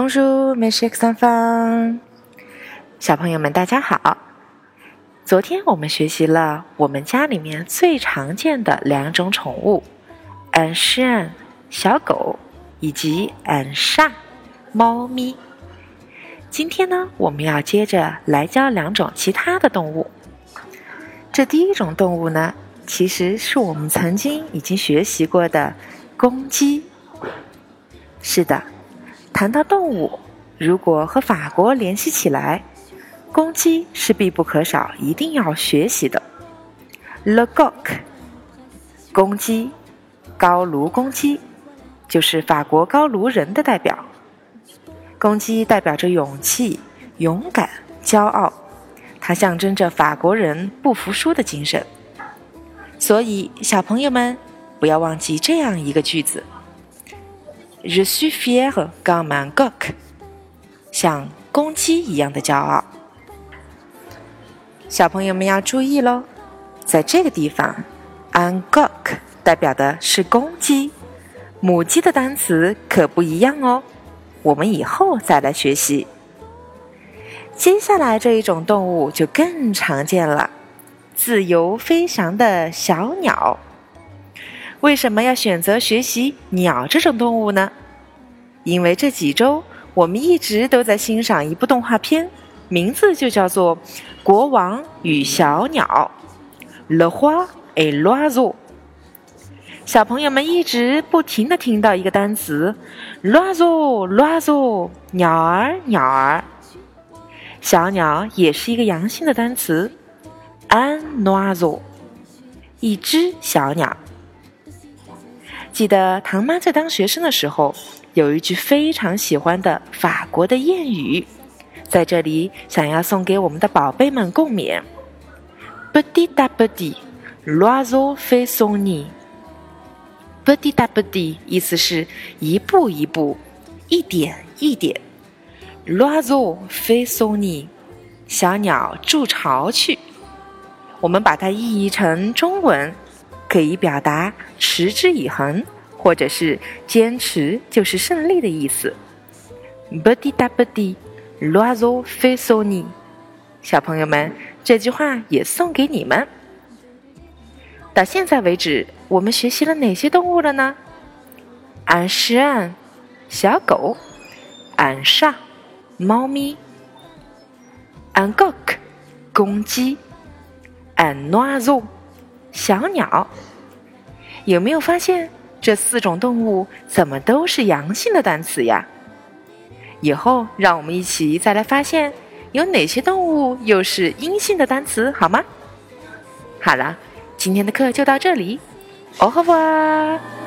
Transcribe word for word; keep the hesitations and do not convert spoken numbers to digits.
Bonjour, mes chers enfants， 小朋友们大家好。昨天我们学习了我们家里面最常见的两种宠物 un chien 小狗以及 un chat 猫咪。今天呢，我们要接着来教两种其他的动物。这第一种动物呢，其实是我们曾经已经学习过的公鸡。是的，谈到动物，如果和法国联系起来，公鸡是必不可少，一定要学习的。Le coq， 公鸡，高卢公鸡，就是法国高卢人的代表。公鸡代表着勇气、勇敢、骄傲，它象征着法国人不服输的精神。所以，小朋友们不要忘记这样一个句子 ：Je suis fier comme un coq， 像公鸡一样的骄傲。小朋友们要注意咯，在这个地方 un coq 代表的是公鸡，母鸡的单词可不一样哦，我们以后再来学习。接下来这一种动物就更常见了，自由飞翔的小鸟。为什么要选择学习鸟这种动物呢？因为这几周我们一直都在欣赏一部动画片，名字就叫做《国王与小鸟》Le Roi et l'Oiseau。 小朋友们一直不停地听到一个单词 L'Oiseau L'Oiseau， 鸟儿鸟儿。小鸟也是一个阳性的单词 Un oiseau， 一只小鸟。记得唐妈在当学生的时候，有一句非常喜欢的法国的谚语，在这里想要送给我们的宝贝们共勉。 Petit à petit, l'oiseau fait son nid。 Petit à petit 意思是一步一步，一点一点。 L'oiseau fait son nid， 小鸟筑巢去。我们把它译译成中文，可以表达持之以恒，或者是坚持就是胜利的意思。 Petit à petit, l'oiseau fait son nid。 小朋友们，这句话也送给你们。到现在为止，我们学习了哪些动物了呢？ Un chien 小狗， un chat 猫咪， un coq 公鸡， un oiseau 小鸟。有没有发现这四种动物怎么都是阳性的单词呀？以后让我们一起再来发现有哪些动物又是阴性的单词，好吗？好了，今天的课就到这里，au revoir。